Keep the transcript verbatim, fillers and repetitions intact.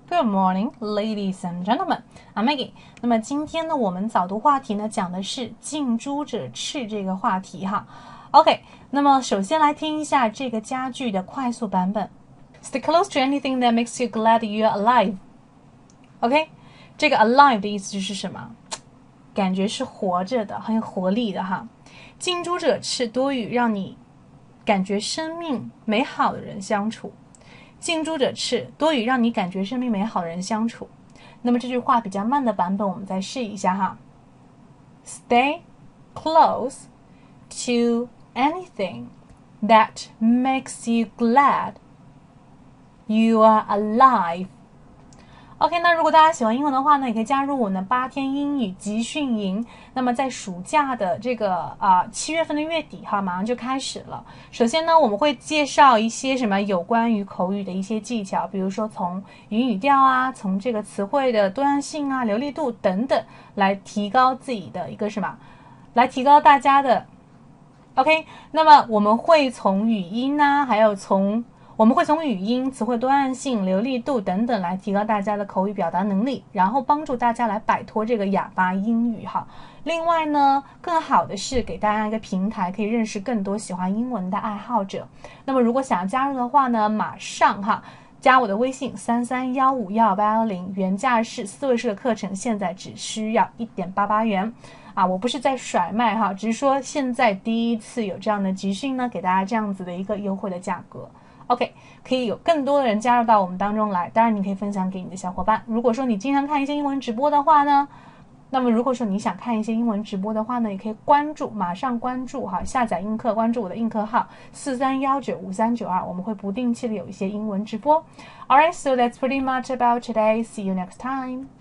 Good morning, ladies and gentlemen. I'm Maggie. 那么今天呢，我们早读话题呢讲的是近朱者赤这个话题哈。OK， 那么首先来听一下这个佳句的快速版本。Stay close to anything that makes you glad you're alive. OK， 这个 alive 的意思就是什么？感觉是活着的，很有活力的哈。近朱者赤，多与让你感觉生命美好的人相处。近朱者赤，多与让你感觉生命美好的人相处。那么这句话比较慢的版本，我们再试一下哈。Stay close to anything that makes you glad you are alive. OK， 那如果大家喜欢英文的话呢，也可以加入我们的八天英语集训营。那么在暑假的这个啊七月份的月底哈，马上就开始了。首先呢，我们会介绍一些什么有关于口语的一些技巧，比如说从语语调啊，从这个词汇的多样性啊、流利度等等，来提高自己的一个什么，来提高大家的。OK， 那么我们会从语音啊，还有从我们会从语音、词汇多样性、流利度等等来提高大家的口语表达能力，然后帮助大家来摆脱这个哑巴英语哈。另外呢，更好的是给大家一个平台，可以认识更多喜欢英文的爱好者。那么如果想要加入的话呢，马上哈加我的微信三三一五一八幺零，原价是四位数的课程，现在只需要 一点八八元。啊，我不是在甩卖哈，只是说现在第一次有这样的集训呢，给大家这样子的一个优惠的价格。OK， 可以有更多的人加入到我们当中来，当然你可以分享给你的小伙伴。如果说你经常看一些英文直播的话呢，那么如果说你想看一些英文直播的话呢，也可以关注，马上关注哈，下载映课，关注我的映课号四三一九五三九二，我们会不定期的有一些英文直播。Alright, so that's pretty much about today. See you next time.